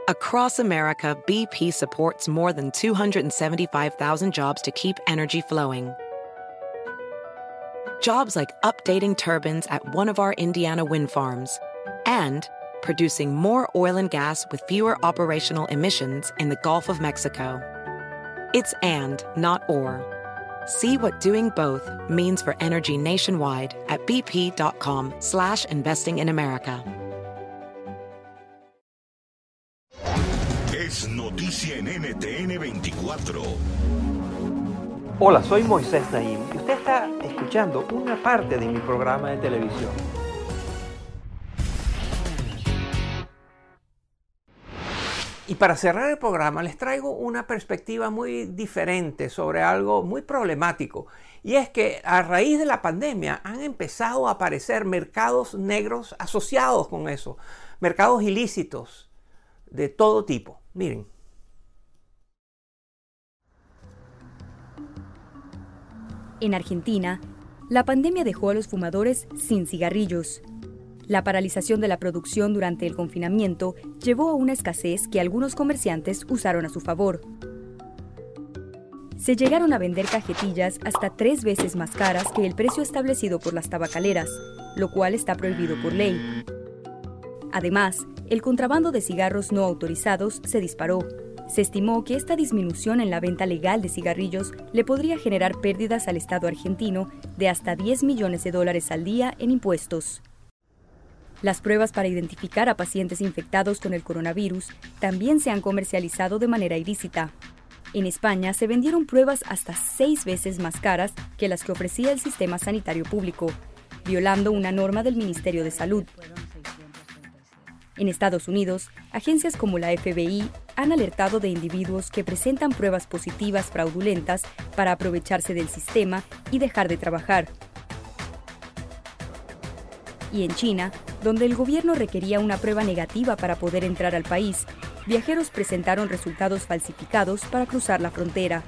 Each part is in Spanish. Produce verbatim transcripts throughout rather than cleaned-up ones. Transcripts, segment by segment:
Across America, B P supports more than two hundred seventy-five thousand jobs to keep energy flowing. Jobs like updating turbines at one of our Indiana wind farms and producing more oil and gas with fewer operational emissions in the Gulf of Mexico. It's and, not or. See what doing both means for energy nationwide at bp.com slash investing in America. Es noticia en N T N veinticuatro. Hola, soy Moisés Naim y usted está escuchando una parte de mi programa de televisión. Y para cerrar el programa les traigo una perspectiva muy diferente sobre algo muy problemático. Y es que a raíz de la pandemia han empezado a aparecer mercados negros asociados con eso. Mercados ilícitos de todo tipo. Miren. En Argentina, la pandemia dejó a los fumadores sin cigarrillos. La paralización de la producción durante el confinamiento llevó a una escasez que algunos comerciantes usaron a su favor. Se llegaron a vender cajetillas hasta tres veces más caras que el precio establecido por las tabacaleras, lo cual está prohibido por ley. Además, el contrabando de cigarros no autorizados se disparó. Se estimó que esta disminución en la venta legal de cigarrillos le podría generar pérdidas al Estado argentino de hasta diez millones de dólares al día en impuestos. Las pruebas para identificar a pacientes infectados con el coronavirus también se han comercializado de manera ilícita. En España se vendieron pruebas hasta seis veces más caras que las que ofrecía el sistema sanitario público, violando una norma del Ministerio de Salud. En Estados Unidos, agencias como la F B I han alertado de individuos que presentan pruebas positivas fraudulentas para aprovecharse del sistema y dejar de trabajar. Y en China, donde el gobierno requería una prueba negativa para poder entrar al país, viajeros presentaron resultados falsificados para cruzar la frontera.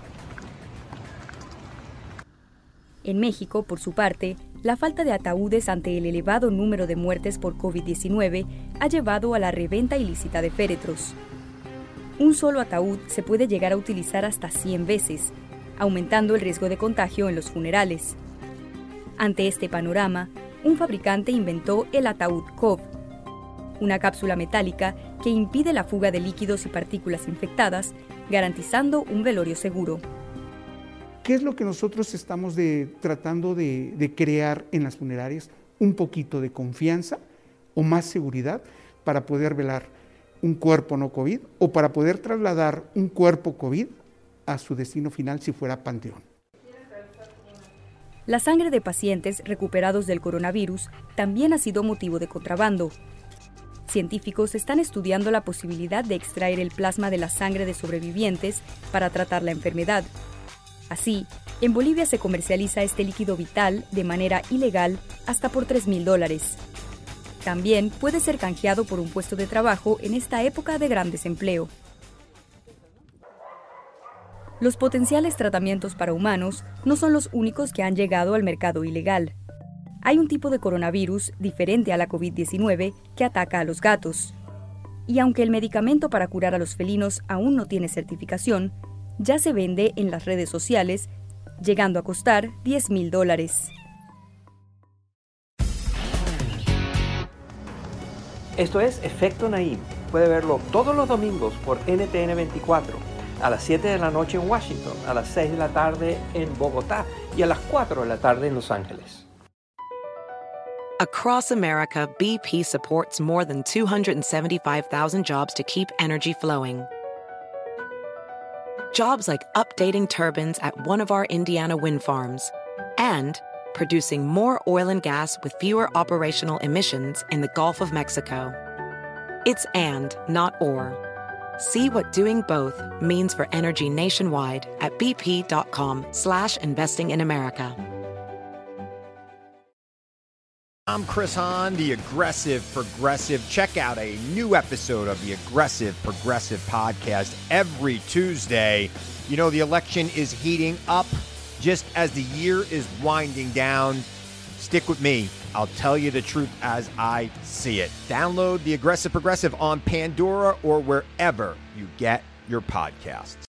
En México, por su parte, la falta de ataúdes ante el elevado número de muertes por COVID diecinueve ha llevado a la reventa ilícita de féretros. Un solo ataúd se puede llegar a utilizar hasta cien veces, aumentando el riesgo de contagio en los funerales. Ante este panorama, un fabricante inventó el ataúd COVID, una cápsula metálica que impide la fuga de líquidos y partículas infectadas, garantizando un velorio seguro. ¿Qué es lo que nosotros estamos de, tratando de, de crear en las funerarias? Un poquito de confianza o más seguridad para poder velar un cuerpo no COVID o para poder trasladar un cuerpo COVID a su destino final si fuera panteón. La sangre de pacientes recuperados del coronavirus también ha sido motivo de contrabando. Científicos están estudiando la posibilidad de extraer el plasma de la sangre de sobrevivientes para tratar la enfermedad. Así, en Bolivia se comercializa este líquido vital de manera ilegal hasta por tres mil dólares. También puede ser canjeado por un puesto de trabajo en esta época de gran desempleo. Los potenciales tratamientos para humanos no son los únicos que han llegado al mercado ilegal. Hay un tipo de coronavirus diferente a la COVID diecinueve que ataca a los gatos. Y aunque el medicamento para curar a los felinos aún no tiene certificación, ya se vende en las redes sociales, llegando a costar diez mil dólares. Esto es Efecto Naim. Puede verlo todos los domingos por N T N veinticuatro. A las siete de la noche en Washington, a las seis de la tarde en Bogotá y a las cuatro de la tarde en Los Ángeles. Across America, B P supports more than two hundred seventy-five thousand jobs to keep energy flowing. Jobs like updating turbines at one of our Indiana wind farms and producing more oil and gas with fewer operational emissions in the Gulf of Mexico. It's and, not or. See what doing both means for energy nationwide at bp.com slash investing in America. I'm Chris Hahn, the Aggressive Progressive. Check out a new episode of the Aggressive Progressive podcast every Tuesday. You know, the election is heating up just as the year is winding down. Stick with me I'll tell you the truth as I see it. Download The Aggressive Progressive on Pandora or wherever you get your podcasts.